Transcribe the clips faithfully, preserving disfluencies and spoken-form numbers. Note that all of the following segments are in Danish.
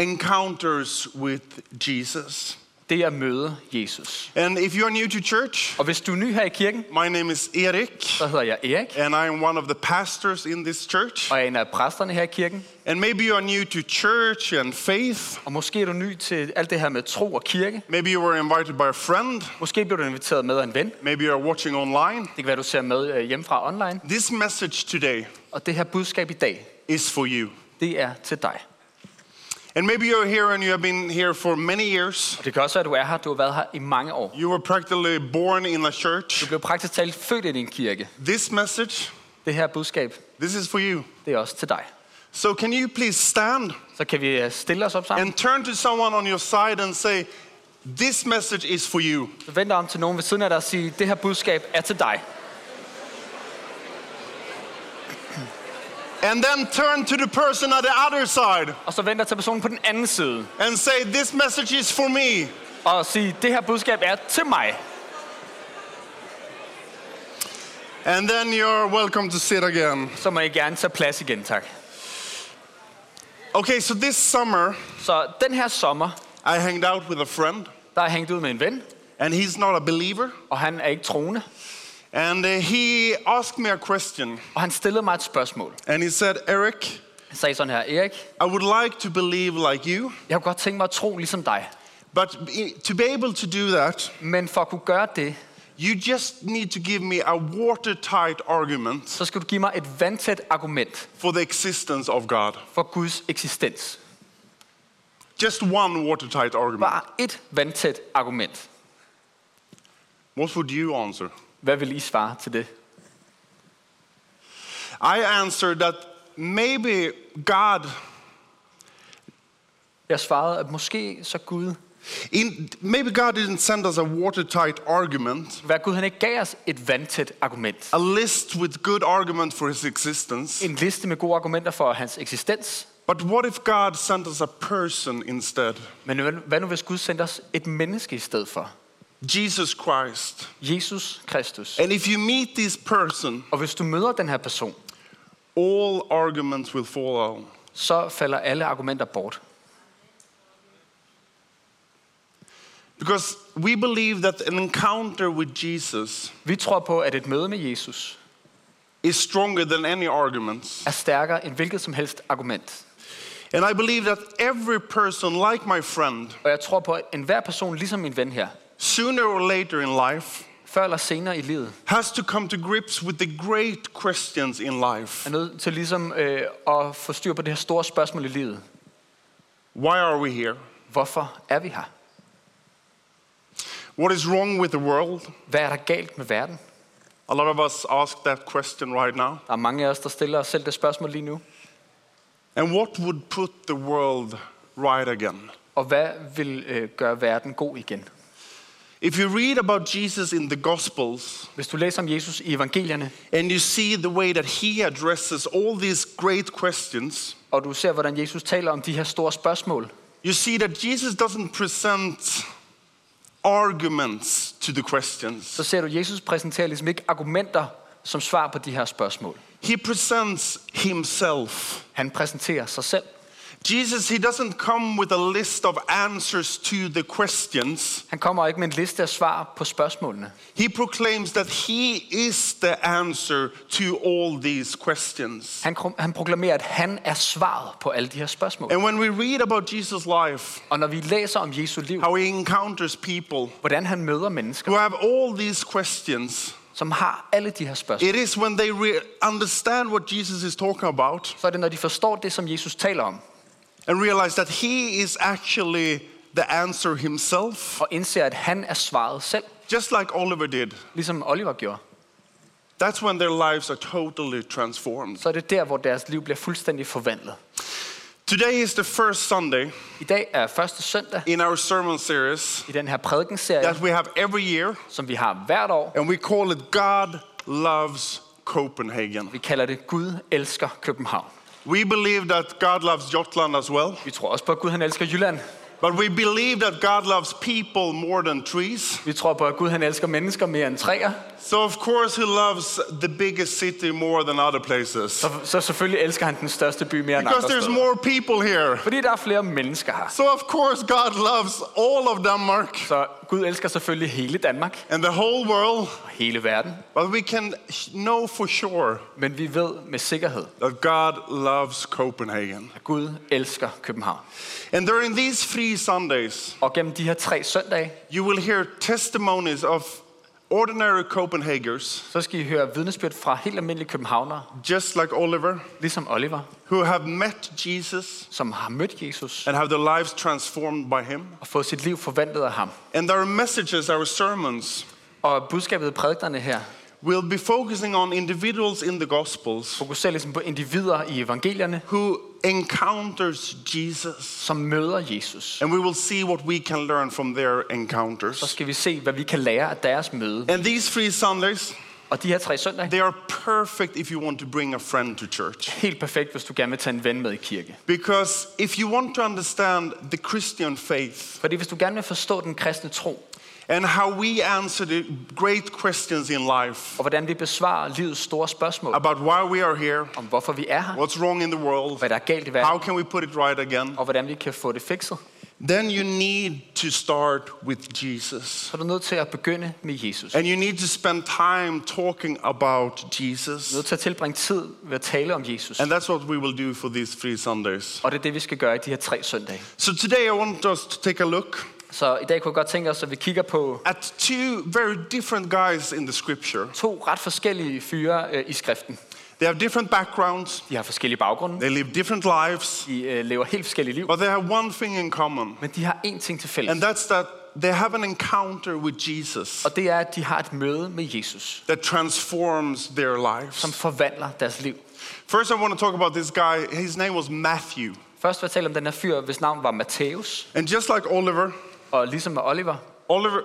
encounters with Jesus. Det er at møde Jesus. And if you're new to church, Og hvis du er ny her i kirken, my name is Erik, så hedder jeg Erik, and I am one of the pastors in this church. og jeg er en af præsterne her i kirken. And maybe you are new to church and faith. Og måske er du ny til alt det her med tro og kirke. Maybe you were invited by a friend. Måske bliver du inviteret med af en ven. Maybe you are watching online. Det kan være, du ser med øh, hjemmefra online. This message today Og det her budskab i dag, is for you. det er til dig. And maybe you're here and you have been here for many years. Og det kan også være, at du er her. Du har været her i mange år. You were practically born in a Du church. blev praktisk talt født i en kirke. This message, Det her budskab, this is for you. det er også til dig. So can you please stand Så kan vi øh, stille os op sammen. and turn to someone on your side and say, this message is for you. Så vend dig om til nogen ved siden af dig og sige, det her budskab er til dig. And then turn to the person at the other side Og så vend dig til personen på den anden side. and say, this message is for me. Og sige, det her budskab er til mig. And then you're welcome to sit again. Så må I gerne tage plads igen, tak. Okay, so this summer, Så den her sommer, I hanged out with a friend, der er jeg hængt ud med en ven. and he's not a believer. Og han er ikke troende. And uh, he asked me a question, Og han stillede mig et spørgsmål. and he said, Eric, Han sagde sådan her, Erik, I would like to believe like you, jeg kunne godt tænke mig at tro ligesom dig. but i- to be able to do that, Men for at kunne gøre det, you just need to give me a watertight argument så skal du give mig et vandtæt argument for the existence of God. for Guds eksistens. Just one watertight argument. Bare et vandtæt argument. What would you answer? Hvad vil I svare til det? I answered that maybe God, Jeg svarede, at måske så Gud, in, maybe God didn't send us a watertight argument, hvad Gud han ikke gav os et vandtæt argument. a list with good argument for his existence. En liste med gode argumenter for hans eksistens. But what if God sent us a person instead? Men hvad- hvad nu hvis Gud sendte os et menneske i stedet for? Jesus Christ. Jesus Kristus. And if you meet this person, Og hvis du møder den her person, all arguments will fall out. så falder alle argumenter bort. Because we believe that an encounter with Jesus Vi tror på, at et møde med Jesus is stronger than any arguments. er stærkere end hvilket som helst argument. And I believe that every person, like my friend, Og jeg tror på, at enhver person, ligesom min ven her, sooner or later in life, før eller senere i livet, has to come to grips with the great questions in life. er nødt til ligesom øh, at få styr på det her store spørgsmål i livet. Why are we here? Hvorfor er vi her? What is wrong with the world? Hvad er der galt med verden? A lot of us ask that question right now. Der er mange af os, der stiller os selv det spørgsmål lige nu. And what would put the world right again? Og hvad vil øh, gøre verden god igen? If you read about Jesus in the Gospels, Hvis du læser om Jesus i evangelierne, and you see the way that he addresses all these great questions, og du ser, hvordan Jesus taler om de her store spørgsmål, you see that Jesus doesn't present arguments to the questions. så ser du, at Jesus præsenterer ligesom ikke argumenter som svar på de her spørgsmål. He presents himself. Han præsenterer sig selv. Jesus, he doesn't come with a list of answers to the questions. Han kommer ikke med en liste af svar på spørgsmålene. He proclaims that he is the answer to all these questions. Han, han proklamerer, at han er svaret på alle de her spørgsmål. And when we read about Jesus' life, Og når vi læser om Jesu liv, how he encounters people hvordan han møder mennesker, who have all these questions, som har alle de her spørgsmål, it is when they re- understand what Jesus is talking about så er det, når de forstår det, som Jesus taler om, and realize that he is actually the answer himself, og indser, at han er svaret selv, just like Oliver did. ligesom Oliver gjorde, That's when their lives are totally transformed. så er det der, hvor deres liv bliver fuldstændig forvandlet. Today is the first Sunday I dag er første søndag in our sermon series i den her prædikenserie, that we have every year, som vi har hvert år. and we call it God Loves Copenhagen. Vi kalder det Gud elsker København. We believe that God loves Jutland as well. Vi tror også på, at Gud han elsker Jylland. But we believe that God loves people more than trees. Vi tror på, at Gud han elsker mennesker mere end træer. So of course he loves the biggest city more than other places. Så, så selvfølgelig elsker han den største by mere end Because andre there's steder. more people here. Fordi der er flere mennesker her. So of course God loves all of Denmark Så Gud elsker selvfølgelig hele Danmark and the whole world. og hele verden. But we can know for sure Men vi ved med sikkerhed, that God loves Copenhagen. at Gud elsker København. And during these three Sundays, Og gennem de her tre søndage, you will hear testimonies of ordinary Copenhageners, så skal I høre vidnesbyrd fra helt almindelige københavnere, just like Oliver, ligesom Oliver, who have met Jesus som har mødt Jesus and have their lives transformed by him. og fået sit liv forvandlet af ham. And our messages, our sermons, Og budskabet i prædiknerne her will be focusing on individuals in the Gospels fokuserer ligesom på individer i evangelierne, who encounters Jesus. som møder Jesus. And we will see what we can learn from their Så encounters. skal vi se, hvad vi kan lære af deres møde. And these three Sundays, Og de her tre søndage, they are perfect if you want to bring a friend to church. helt perfekt, hvis du gerne vil tage en ven med i kirke. Because if you want to understand the Christian faith Fordi hvis du gerne vil forstå den kristne tro, and how we answer the great questions in life og hvordan vi besvarer livets store spørgsmål, about why we are here, om hvorfor vi er her, what's wrong in the world, hvad der er galt i how verden, can we put it right again, og hvordan vi kan få det fikset, then you need to start with Jesus. så er du nødt til at begynde med Jesus. And you need to spend time talking about Du er Jesus. nødt til at tilbringe tid ved at tale om Jesus. And that's what we will do for these three Sundays. Og det er det, vi skal gøre i de her tre søndage. So today I want us to take a look Så i dag kunne jeg godt tænke os, at vi kigger på at two very different guys in the scripture. to ret forskellige fyre øh, i skriften. They have different backgrounds, De har forskellige baggrunde. they live different lives, De øh, lever helt forskellige liv. but they have one thing in common, Men de har én ting til fælles. and that's that they have an encounter with Jesus Og det er, at de har et møde med Jesus, that transforms their lives. som forvandler deres liv. First, I want to talk about this guy. His name was Matthew. Først vil jeg tale om den her fyr, hvis navn var Matthæus. And just like Oliver, Og ligesom med Oliver, Oliver,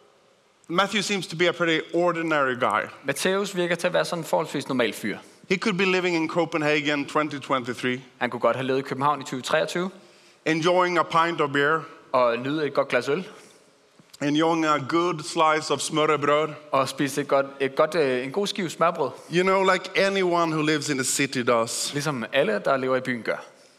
Matthew seems to be a pretty ordinary guy. Matthæus virker til at være sådan en forholdsvis normal fyr. He could be living in Copenhagen twenty twenty-three, Han kunne godt have levet i København i tyve treogtyve enjoying a pint of beer, og nyde et godt glas øl enjoying a good slice of smørrebrød. og spise et godt, et godt, øh, en god skive smørbrød, You know, like anyone who lives in the city does. ligesom alle, der lever i byen, gør.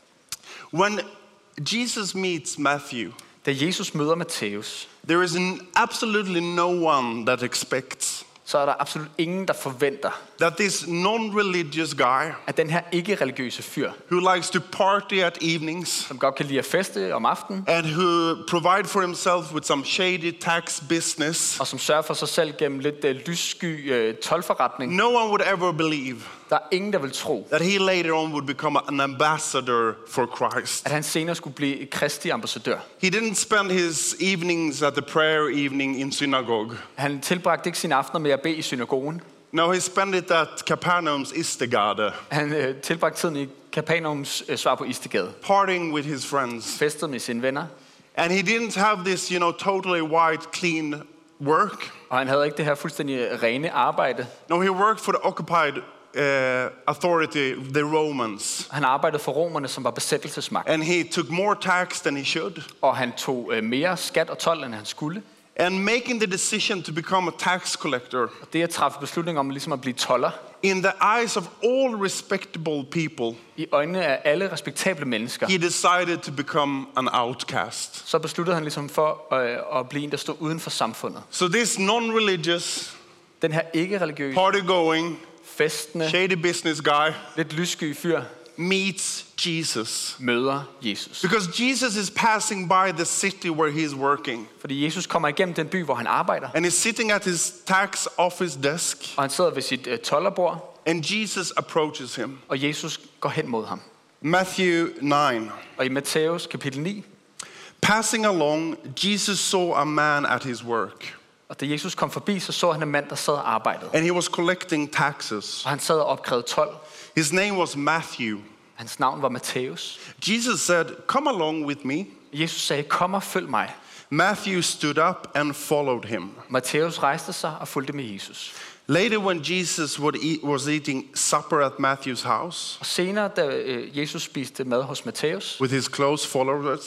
When Jesus meets Matthew, Da Jesus møder Matthæus, there is an absolutely no one that expects så er der absolut ingen, der forventer, that this non-religious guy at den her ikke-religiøse fyr, who likes to party at evenings som godt kan lide at feste om aftenen, and who provide for himself with some shady tax business, og som sørger for sig selv gennem lidt øh, lyssky øh, tolvforretning, no one would ever believe der er ingen, der vil tro, that he later on would become an ambassador for Christ. at han senere skulle blive et kristi ambassadør. He didn't spend his evenings at the prayer evening in synagogue. Han tilbragte ikke sine aftener med at bede i synagogen. No, he spent it at Capernaum's Istegade, Han øh, tilbragte tiden i Kapernaums øh, svar på Istegade. partying with his friends. Festede med sine venner. And he didn't have this, you know, totally white, clean work. Og han havde ikke det her fuldstændig rene arbejde. No, he worked for the occupied uh, authority, the Romans. Han arbejdede for romerne, som var besættelsesmagt. And he took more tax than he should. Og han tog øh, mere skat og told, end han skulle. And making the decision to become a tax collector, Og det at træffe beslutning om ligesom at blive toller, in the eyes of all respectable people, i øjnene af alle respektable mennesker, he decided to become an outcast. så besluttede han ligesom for øh, at blive en, der stod uden for samfundet. So this non-religious, Den her ikke-religiøse, party-going, festende, shady business guy lidt lyssky fyr meets Jesus. møder Jesus. Because Jesus is passing by the city where he is working. Fordi Jesus kommer igennem den by, hvor han arbejder, And he's sitting at his tax office desk. og han sidder ved sit øh, tollerbord, And Jesus approaches him. og Jesus går hen mod ham. Matthew nine. Og i Matthæus kapitel ni, Passing along, Jesus saw a man at his work. og da Jesus kom forbi, så så han en mand, der sad og arbejdede. And he was collecting taxes. Og han sad og opkrævede told. His name was Matthew. Hans navn var Matthæus. Jesus said, "Come along with me." Jesus sagde, kom og følg mig. Matthew stood up and followed him. Matthæus rejste sig og fulgte med Jesus. Later, when Jesus would eat, was eating supper at Matthew's house Og senere, da øh, Jesus spiste mad hos Matthæus, with his close followers,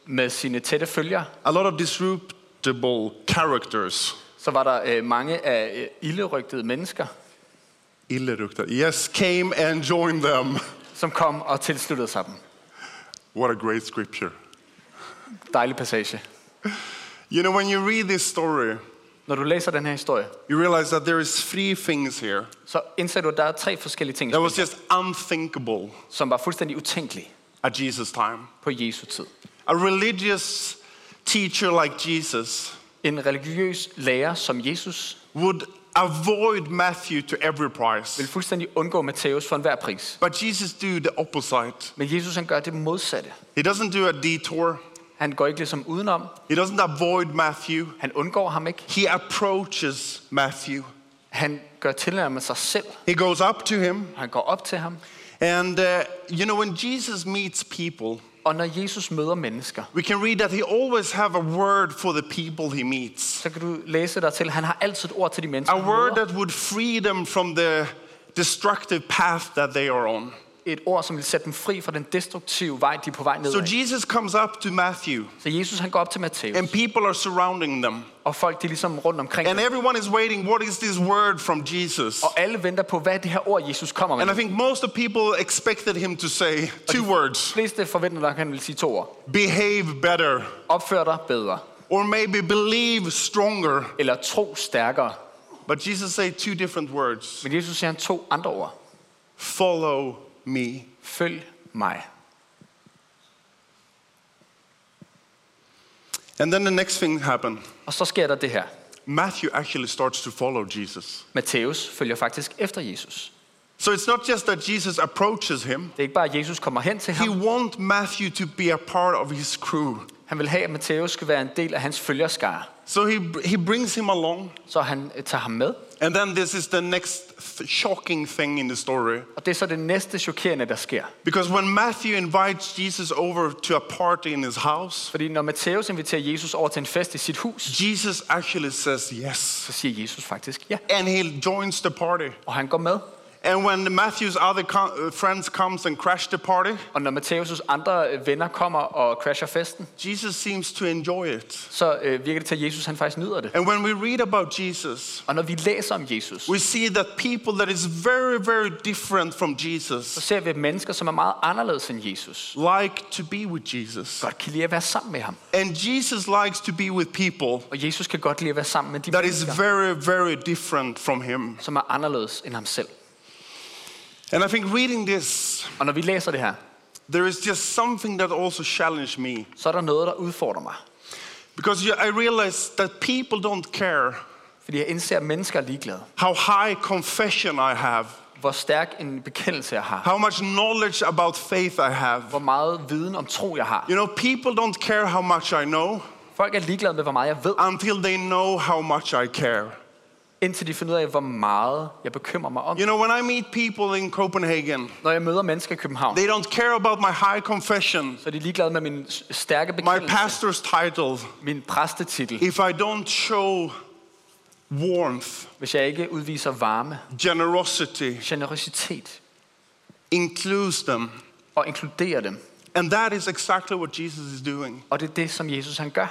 med sine tætte følgere. A lot of disreputable characters. Så var der øh, mange af øh, ilderygtede mennesker, Illerugta. Yes, came and joined them. som kom og tilsluttede sig dem. What a great scripture. Dejlig passage. You know, when you read this story, Når du læser den her historie, you realize that there is three things here så indser du, at der er tre forskellige ting, that was just unthinkable som var fuldstændig utænkelige at Jesus' time. på Jesu tid. A religious teacher like Jesus En religiøs lærer som Jesus would avoid Matthew to every price. vil fuldstændig undgå Matthæus for enhver pris. But Jesus do the opposite. Men Jesus han gør det modsatte. He doesn't do a detour. Han går ikke ligesom udenom. He doesn't avoid Matthew. Han undgår ham ikke. He approaches Matthew. Han gør tilnærmet sig selv. He goes up to him. Han går op til ham. And uh, you know, when Jesus meets people, Og når Jesus møder mennesker, we can read that he always have a word for the people he meets. så kan du læse dig til, at han har altid et ord til de mennesker, A han word møder. that would free them from the destructive path that they are on. Et ord, som vil sætte dem fri fra den destruktive vej, de er på vej So nedad. Jesus comes up to Matthew, Så Jesus han går op til Matthæus, and people are surrounding them. og folk de er ligesom rundt omkring And dem. everyone is waiting, what is this word from Jesus? Og alle venter på, hvad er det her ord, Jesus kommer med. And I think most of people expected him to say two words. De fleste forventer nok, at han vil sige to ord. Behave better, Opfør dig bedre, or maybe believe stronger. eller tro stærkere. But Jesus say two different words. Men Jesus siger han to andre ord. Follow me. Følg mig. And then the next thing happened. Og så sker der det her. Matthew actually starts to follow Jesus. Matthæus følger faktisk efter Jesus. So it's not just that Jesus approaches him. Det er ikke bare, at Jesus kommer hen til He ham. wants Matthew to be a part of his crew. Han vil have, at Matthæus skal være en del af hans følgerskare. So he, he brings him along. Så han øh, tager ham med. And then this is the next th- shocking thing in the story. Og det er så det næste chokerende, der sker. Because when Matthew invites Jesus over to a party in his house, Fordi når Matthæus inviterer Jesus over til en fest i sit hus, Jesus actually says yes. så siger Jesus faktisk ja. And he joins the party. Og han går med. And when Matthew's other co- uh, friends comes and crash the party, Og når Matthæus' andre øh, venner kommer og crasher festen, Jesus seems to enjoy it. så øh, virker det til, at Jesus han faktisk nyder det. And when we read about Jesus, Og når vi læser om Jesus, we see that people that is very, very different from så Jesus ser vi mennesker, som er meget anderledes end Jesus, like to be with Jesus. godt kan lide at være sammen med ham. And Jesus likes to be with people Og Jesus kan godt lide at være sammen med de that is mennesker, very, very different from him. som er anderledes end ham selv. And I think reading this, Og når vi læser det her, there is just something that also challenged me. så er der noget, der udfordrer mig. Because you- I realized that people don't care Fordi jeg indser, at mennesker er ligeglade. how high confession I have, Hvor stærk en bekendelse jeg har. how much knowledge about faith I have. Hvor meget viden om tro jeg har. You know, people don't care how much I know Folk er ligeglade med, hvor meget jeg ved, until they know how much I care. indtil de finder ud af, hvor meget jeg bekymrer mig om. You know, when I meet people in Copenhagen, Når jeg møder mennesker i København, they don't care about my high confession, så er de ligeglade med min s- stærke my bekendelse, pastor's title, min præstetitel, if I don't show warmth, hvis jeg ikke udviser varme, generosity, generøsitet includes them. og inkluderer dem. And that is exactly what Jesus is doing. Og det er det, som Jesus han gør.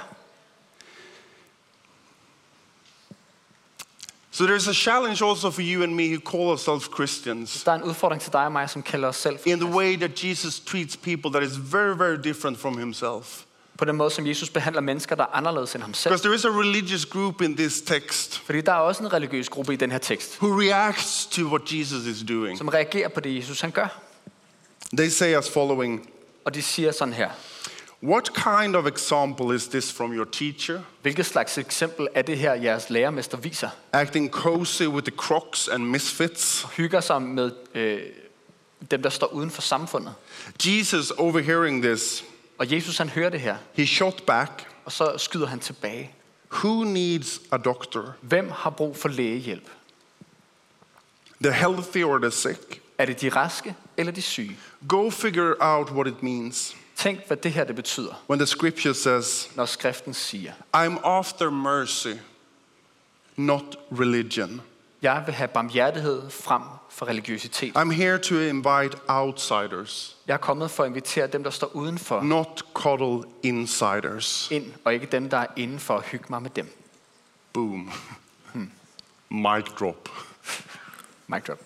So there's a challenge also for you and me who call ourselves Christians Der er en udfordring til dig og mig, som kalder os selv in the way that Jesus treats people that is very, very different from himself. på den måde, som Jesus behandler mennesker, der er anderledes end ham selv. Because there is a religious group in this text Fordi der er også en religiøs gruppe i den her tekst, who reacts to what Jesus is doing. som reagerer på det, Jesus han gør. They say as following, Og de siger sådan her: what kind of example is this from your teacher? Hvilket slags eksempel er det her, jeres lærermester viser? Acting cozy with the crocs and misfits? Hygger sig med øh, dem, der står uden for samfundet. Jesus, overhearing this, Og Jesus han hører det her, he shot back, og så skyder han tilbage. who needs a doctor? Hvem har brug for lægehjælp? The healthy or the sick? Er det de raske eller de syge? Go figure out what it means Tænk, hvad det her det betyder, when the scripture says, når skriften siger: I'm after mercy, not religion. Jeg vil have barmhjertighed frem for religiøsitet. I'm here to invite outsiders, Jeg er kommet for at invitere dem, der står udenfor, not coddle insiders. ind, og ikke dem, der er inde for at hygge mig med dem. Boom. Mic drop. Mic drop.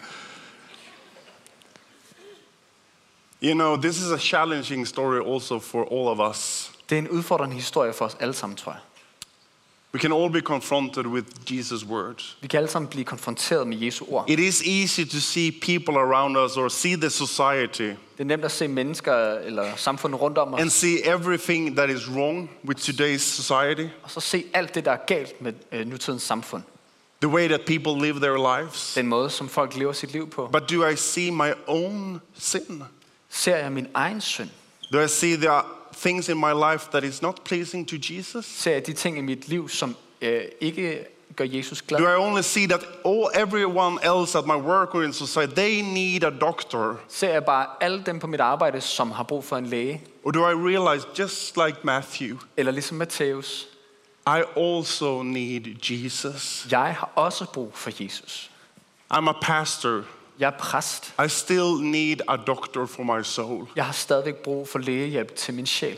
You know, this is a challenging story also for all of us. Det er en udfordrende historie for os alle sammen, tror jeg. We can all be confronted with Jesus' words. Vi kan alle sammen blive konfronteret med Jesu ord. It is easy to see people around us or see the society Det er nemt at se mennesker eller samfundet rundt om os, and see everything that is wrong with today's society. og så se alt det, der er galt med øh, nutidens samfund. The way that people live their lives. Den måde, som folk lever sit liv på. But do I see my own sin? Ser jeg min egen synd? Do I see there are things in my life that is not pleasing to Jesus? Ser jeg de ting i mit liv, som øh, ikke gør Jesus glad? Do I only see that all everyone else at my work or in society, they need a doctor? Ser jeg bare alle dem på mit arbejde, som har brug for en læge? Or do I realize, just like Matthew, Eller ligesom Matthæus, I also need Jesus? jeg har også brug for Jesus. I'm a pastor. Jeg er præst. I still need a doctor for my soul. Jeg har stadigvæk brug for lægehjælp til min sjæl.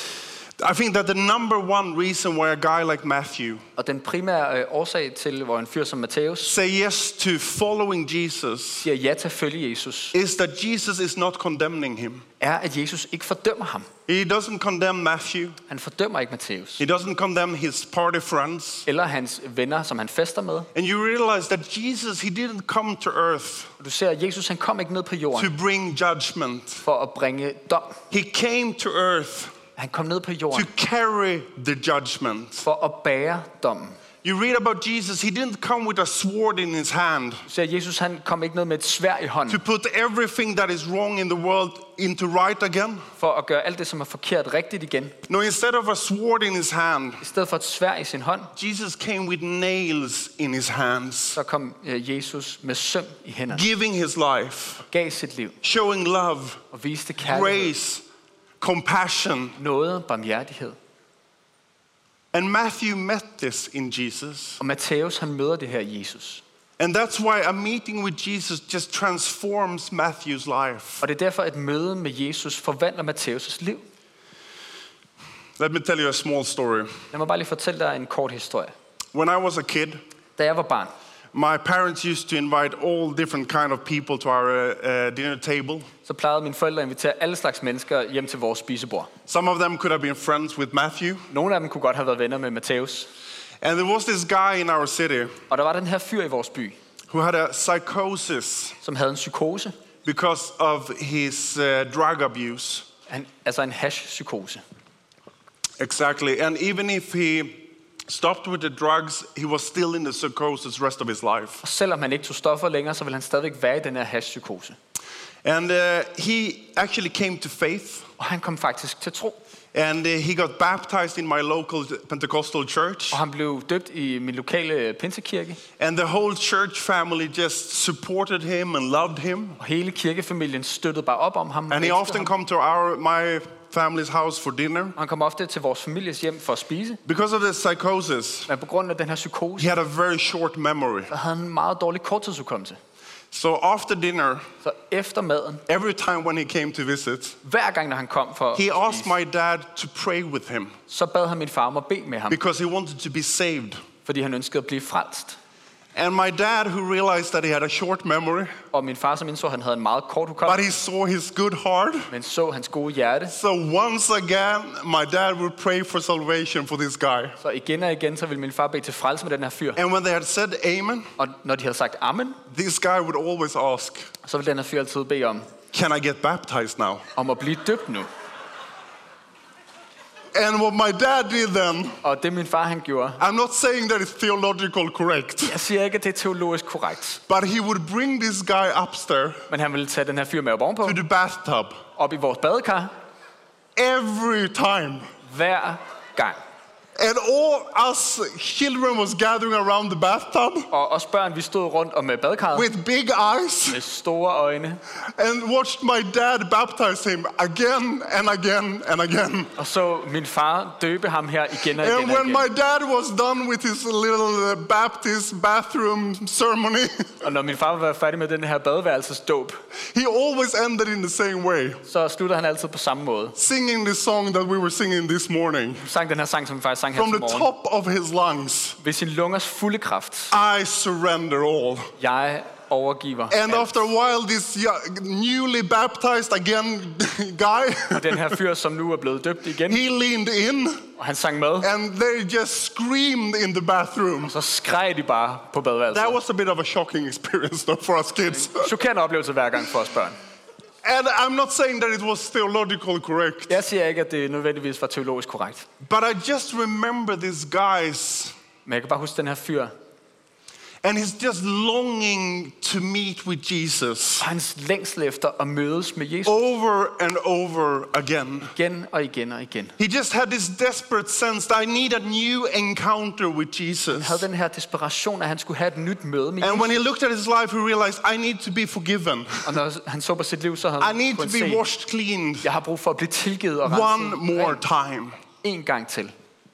I think that the number one reason why a guy like Matthew Og den primære øh, årsag til, hvor en fyr som Matthæus say yes to following Jesus siger ja til at følge Jesus, is that Jesus is not condemning him. er, at Jesus ikke fordømmer ham. He doesn't condemn Matthew. Han fordømmer ikke Matthæus. He doesn't condemn his party friends. Eller hans venner, som han fester med. And you realize that Jesus, he didn't come to earth Og du ser, at Jesus han kom ikke ned på to jorden bring judgment. for at bringe dom. He came to earth Han kom ned på to jorden carry the judgment. for at bære dommen. You read about Jesus, he didn't come with a sword in his hand Du ser, at Jesus han kom ikke ned med et sværd i to hånden put everything that is wrong in the world into right again. for at gøre alt det, som er forkert, rigtigt igen. No, instead of a sword in his hand, I stedet for et sværd i sin hånd, Jesus came with nails in his hands, så kom øh, Jesus med søm i hænderne. giving his life, Gav sit liv showing love, og viste kærlighed, grace, compassion. nåde, barmhjertighed. And Matthew met this in Jesus. Og Matthæus han møder det her i Jesus. And that's why a meeting with Jesus just transforms Matthew's life. Og det er derfor, et møde med Jesus forvandler Matthæus' liv. Let me tell you a small story. Lad mig bare lige fortælle dig en kort historie. When I was a kid, Da jeg var barn, my parents used to invite all different kind of people to our uh, dinner table. så plejede mine forældre at invitere alle slags mennesker hjem til vores spisebord. Some of them could have been friends with Matthew. Nogle af dem kunne godt have været venner med Matthæus. And there was this guy in our city Og der var den her fyr i vores by, who had a psychosis som havde en psykose. because of his uh, drug abuse. Han, altså en hash-psykose. Exactly. And even if he stopped with the drugs, he was still in the psychosis rest of his life. Og selvom han ikke tog stoffer længere, så ville han stadigvæk være i den her hash-psykose. And uh, he actually came to faith. Og han kom faktisk til tro. And uh, he got baptized in my local Pentecostal church. Og han blev døbt i min lokale pinsekirke. And the whole church family just supported him and loved him. Og hele kirkefamilien støttede bare op om ham. And he often come to our my family's house for dinner. Og han kom ofte til vores families hjem for at spise. Because of the psychosis, Men på grund af den her psykose, he had a very short memory. så havde han en meget dårlig korttidshukommelse. So after dinner, Så efter maden, every time when he came to visit, hver gang når han kom for he at asked spise, my dad to pray with him så bad han min far om at bede med ham, because he wanted to be saved. fordi han ønskede at blive frelst. And my dad, who realized that he had a short memory, Og min far, som indså, at han havde en meget kort but hukommelse, he saw his good heart. men så hans gode hjerte. So once again, my dad would pray for salvation for this guy. Så igen og igen, så ville min far bede til frelse med den her fyr. And when they had said amen, Og når de havde sagt amen, this guy would always ask, så ville den her fyr altid bede om, can I get baptized now? om at blive døbt nu. And what my dad did then, Og det min far han gjorde, I'm not saying that it's theological correct, jeg siger ikke, at det er teologisk korrekt, but he would bring this guy upstairs men han ville tage den her fyr med op ovenpå, to the bathtub op i vores badekar, every time. hver gang. And all us children was gathering around the bathtub Og os børn, vi stod rundt om øh, badekarret with big eyes med store øjne. and watched my dad baptize him again and again and again. Og så min far døbe ham her igen og igen And og when igen. my dad was done with his little uh, Baptist bathroom ceremony, Og når min far var færdig med den her badeværelsesdåb, he always ended in the same way, så slutter han altid på samme måde. singing the song that we were singing this morning. Han sang den her sang, som vi faktisk sang her From til the morgen. top of his lungs, Ved sin lungers fulde kraft. I surrender all. Jeg overgiver And alt. after a while, this young- newly baptized again guy, Og den her fyr, som nu er blevet døbt igen, he leaned in og han sang med, and they just screamed in the bathroom. så skreg de bare på badeværelset. That was a bit of a shocking experience though, for us kids. Chokerende oplevelse hver gang for os børn. And I'm not saying that it was theologically correct, Jeg siger ikke, at det nødvendigvis var teologisk korrekt. but I just remember these guys, Men jeg kan bare huske den her fyr. and he's just longing to meet with Jesus Og hans længsel efter at mødes med Jesus over and over again. igen og igen og igen. He just had this desperate sense that I need a new encounter with Han Jesus. havde den her desperation, at han skulle have et nyt møde med And Jesus. when he looked at his life, he realized, I need to be forgiven. Og når han så på sit liv, så havde I han need to kunnet be se, washed clean jeg har brug for at blive tilgivet og one renset more ren time. en gang til.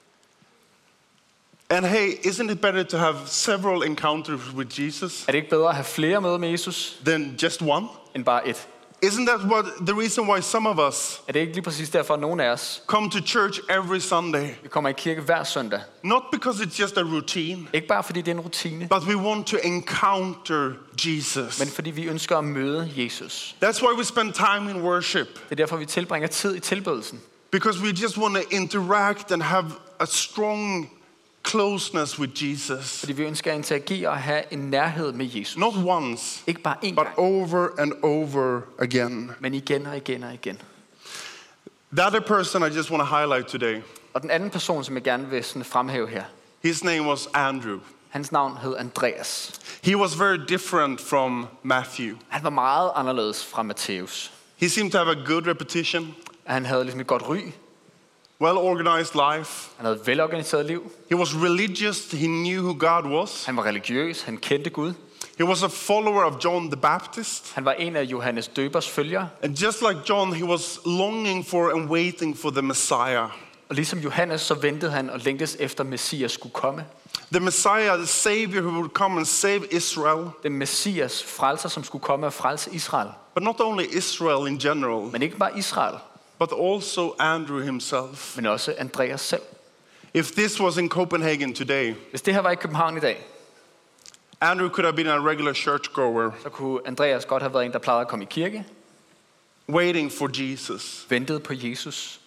And hey, isn't it better to have several encounters with Jesus Er det ikke bedre at have flere møder med Jesus, than just one? end bare et? Isn't that what the reason why some of us Er det ikke lige præcis derfor, at nogle af os, come to church every Sunday? vi kommer i kirke hver søndag? Not because it's just a routine, Ikke bare fordi det er en rutine, but we want to encounter Jesus. men fordi vi ønsker at møde Jesus. That's why we spend time in worship, Det er derfor, vi tilbringer tid i tilbedelsen. because we just want to interact and have a strong closeness with Jesus. Fordi vi ønsker at interagere og have en nærhed med Jesus. Not once, Ikke bare én but gang, over and over again. men igen og igen og igen. The other person I just want to highlight today, Og den anden person, som jeg gerne vil sådan fremhæve her, his name was Andrew. hans navn hed Andreas. He was very different from Matthew. Han var meget anderledes fra Matthæus. He seemed to have a good reputation, Han havde ligesom et godt ry. well-organized life. Han havde et velorganiseret liv. He was religious. He knew who God was. Han var religiøs. Han kendte Gud. He was a follower of John the Baptist. Han var en af Johannes Døbers følgere. And just like John, he was longing for and waiting for the Messiah. Og ligesom Johannes, så ventede han og længtes efter, Messias skulle komme. The Messiah, the Savior who would come and save Israel. Den Messias, frelser, som skulle komme og frelse Israel. But not only Israel in general, Men ikke bare Israel, but also Andrew himself. men også Andreas selv. If this was in Copenhagen today, Hvis det her var i København i dag, Andrew could have been a regular churchgoer, så kunne Andreas godt have været en, der plejede at komme i kirke, waiting for Jesus. ventede på Jesus.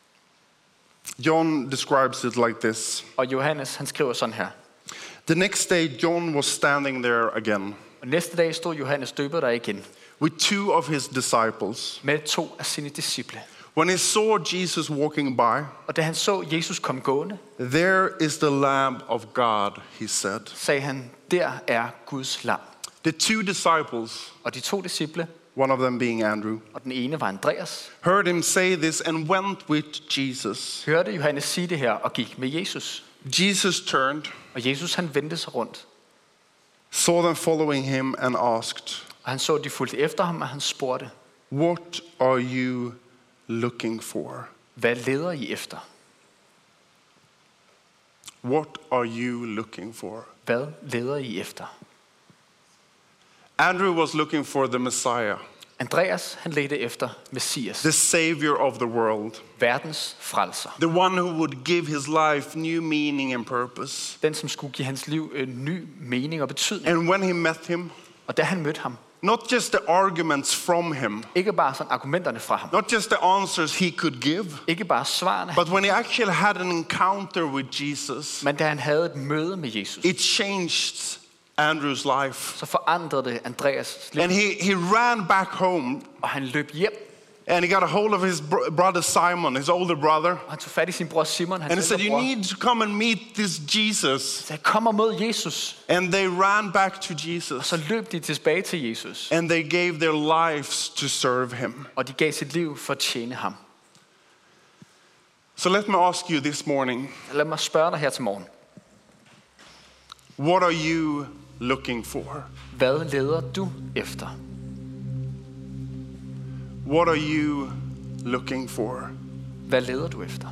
John describes it like this. Og Johannes, han skriver sådan her. The next day, John was standing there again Og næste dag stod Johannes Døber der igen, with two of his disciples. med to af sine disciple. When he saw Jesus walking by, Og da han så Jesus komme gående, there is the Lamb of God, he said. sagde han, der er Guds lam. The two disciples, Og de to disciple, one of them being Andrew, og den ene var Andreas, heard him say this and went with Jesus. hørte Johannes sige det her og gik med Jesus. Jesus turned, Og Jesus, han vendte sig rundt, saw them following him, and asked, og han så, at de fulgte efter ham, og han spurgte, "What are you looking for?" hvad leder I efter? What are you looking for? Hvad leder I efter? Andrew was looking for the Messiah, Andreas, han ledte efter Messias, the Savior of the world, verdens frelser. the one who would give his life new meaning and purpose. Den, som skulle give hans liv en ny mening og betydning. And when he met him, Og da han mødte ham, not just the arguments from him, ikke bare sådan argumenterne fra ham, not just the answers he could give, ikke bare svarene, but when he actually had an encounter with Jesus, men da han havde et møde med Jesus, it changed Andrew's life. så forandrede det Andreas liv, And he, he ran back home og han løb hjem, and he got a hold of his br- brother Simon, his older brother, og han tog fat i sin bror Simon, and he hans said, ældre "You bror, need to come and meet this Jesus." så jeg kommer mod Jesus, And they ran back to og Jesus, så løb de tilbage til Jesus, and they gave their lives to serve him. og de gav sit liv for at tjene ham. So let me ask you this morning, Lad mig spørge dig her til morgen. what are you looking for? Hvad leder du efter? What are you looking for? Hvad leder du efter?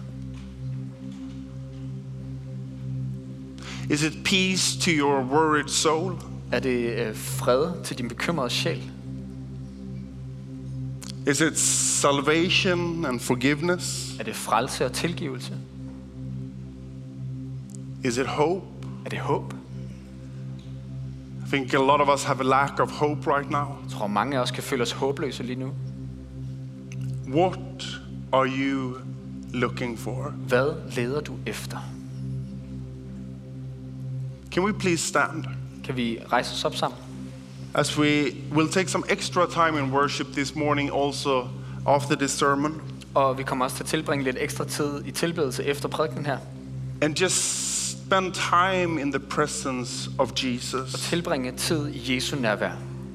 Is it peace to your worried soul? Er det øh, fred til din bekymrede sjæl? Is it salvation and forgiveness? Er det frelse og tilgivelse? Is it hope? Er det håb? I think a lot of us have a lack of hope right now. Jeg tror, mange af os kan føle os håbløse lige nu. What are you looking for? Hvad leder du efter? Can we please stand? Kan vi rejse os op sammen? As we will take some extra time in worship this morning also after this sermon. Og vi kommer også til at tilbringe lidt ekstra tid i tilbedelse efter prædikenen her. And just spend time in the presence of Og Jesus. tilbringe tid i Jesu nærvær.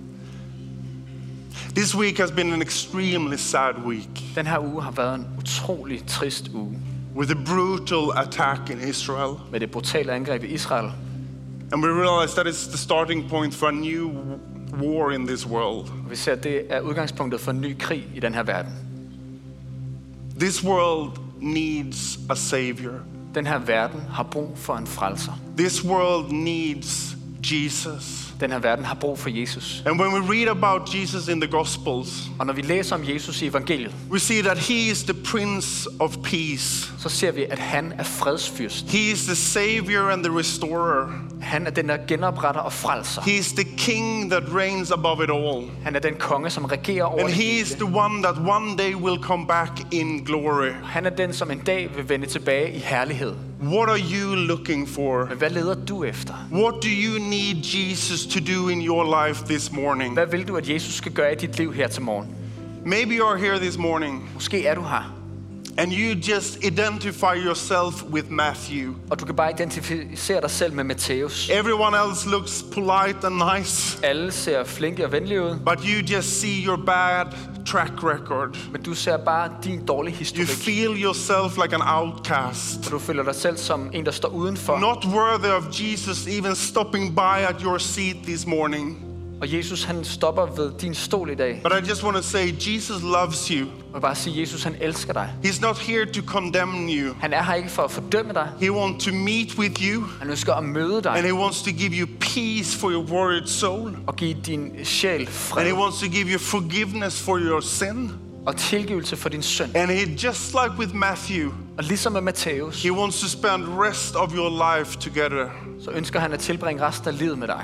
This week has been an extremely sad week Den her uge har været en utrolig trist uge. with a brutal attack in Israel. Med det brutale angreb i Israel. And we realize that it's the starting point for a new war in this world. Og vi ser, at det er udgangspunktet for en ny krig i den her verden. This world needs a savior. Den her verden har brug for en frelser. This world needs Jesus. Den her verden har brug for Jesus. And when we read about Jesus in the Gospels, Og når vi læser om Jesus i evangeliet, we see that he is the Prince of Peace. så ser vi, at han er fredsfyrst. He is the Savior and the Restorer. Han er den, der genopretter og frelser. He is the King that reigns above it all. Han er den konge, som regerer over And det he is hele. the one that one day will come back in glory. Han er den, som en dag vil vende tilbage i herlighed. What are you looking for? Men hvad leder du efter? What do you need Jesus to do in your life this morning? Hvad vil du, at Jesus skal gøre i dit liv her til morgen? Maybe you're here this morning Måske er du her, and you just identify yourself with Matthew. og du kan bare identificere dig selv med Matthæus. Everyone else looks polite and nice, Alle ser flinke og venlige ud, but you just see your bad track record. men du ser bare din dårlige You historik. feel yourself like an outcast, Og du føler dig selv som en, der står udenfor. not worthy of Jesus even stopping by at your seat this morning. Og Jesus, han stopper ved din stol i dag. But I just want to say, Jesus loves you. Og bare sige, Jesus, han elsker dig. He's not here to condemn you. Han er her ikke for at fordømme dig. He wants to meet with you, Han ønsker at møde dig and he wants to give you peace for your worried soul. og give din sjæl And he fred wants to give you forgiveness for your sin. og tilgivelse for din synd. And he, just like with Matthew, Og ligesom med Matthæus, he wants to spend rest of your life together. så ønsker han at tilbringe resten af livet med dig.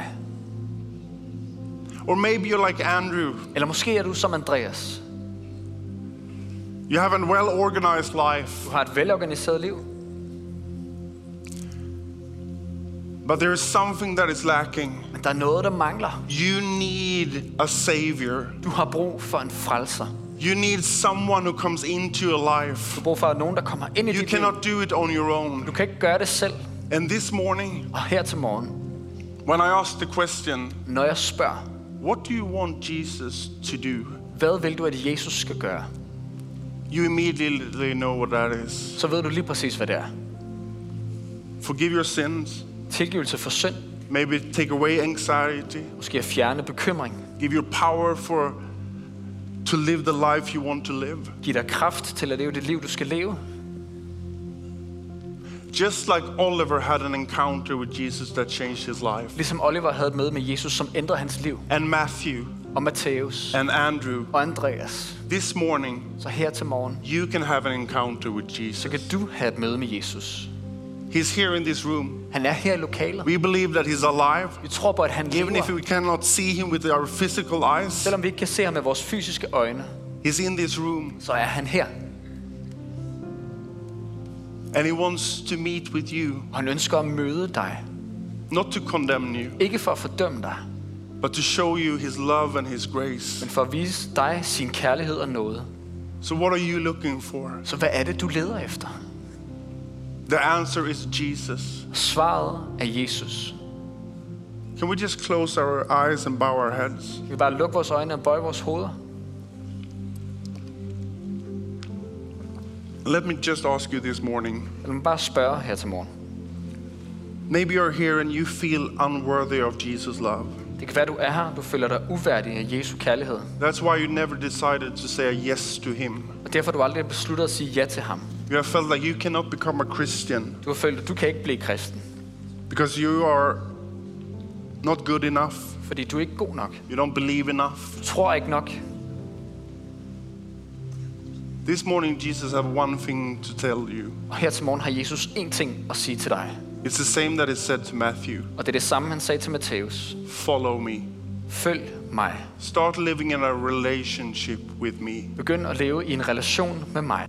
Or maybe you're like Andrew. Eller måske er du som Andreas. You have a well-organized life, Du har et velorganiseret liv, but there is something that is lacking. men der er noget, der mangler. You need a savior. Du har brug for en frelser. You need someone who comes into your Du life. har brug for nogen, der kommer ind i You dit liv. cannot do it on your own. Du kan ikke gøre det selv. And this morning, Og her til morgen, when I ask the question, når jeg spørger, what do you want Jesus to do? hvad vil du, at Jesus skal gøre? You immediately know what that is. Så ved du lige præcis, hvad det er. Forgive your sins. Tilgivelse for synd. Maybe take away anxiety. Måske at fjerne bekymring. Give you power for to live the life you want to live. Giv dig kraft til at leve det liv, du skal leve. Just like Oliver had an encounter with Jesus that changed his life. Ligesom Oliver havde et møde med Jesus, som ændrede hans liv. And Matthew Og Matthæus and Andrew. og Andreas. This morning, Så her til morgen, you can have an encounter with så Jesus. kan du have et møde med Jesus. He's here in this room. Han er her i lokalet. We believe that he's alive. Vi tror på, at han Even if lever. we cannot see him with our physical eyes, Selvom vi ikke kan se ham med vores fysiske øjne, he's in this room. så er han her. And he wants to meet with you, Og han ønsker at møde dig. not to condemn you, Ikke for at fordømme dig, but to show you his love and his grace. men for at vise dig sin kærlighed og nåde. So what are you looking for? Så hvad er det, du leder efter? The answer is Jesus. Svaret er Jesus. Can we just close our eyes and bow our heads? Vi vil bare lukke vores øjne og bøje vores hoveder. Let me just ask you this morning. Lad mig bare spørge her til morgen. Maybe you're here and you feel unworthy of Jesus' love. Det kan være, du er her, du føler dig uværdig af Jesu kærlighed. That's why you never decided to say a yes to him. Og derfor har du aldrig besluttet at sige ja til ham. You have felt like you cannot become a Christian Du har følt, at du kan ikke blive kristen, because you are not good enough. fordi du er ikke god nok. You don't believe enough. Du tror ikke nok. This morning, Jesus have one thing to tell you. Og her til morgen har Jesus én ting at sige til dig. It's the same that is said to Matthew. Og det er det samme, han sagde til Matthæus. Follow me. Følg mig. Start living in a relationship with me. Begynd at leve i en relation med mig.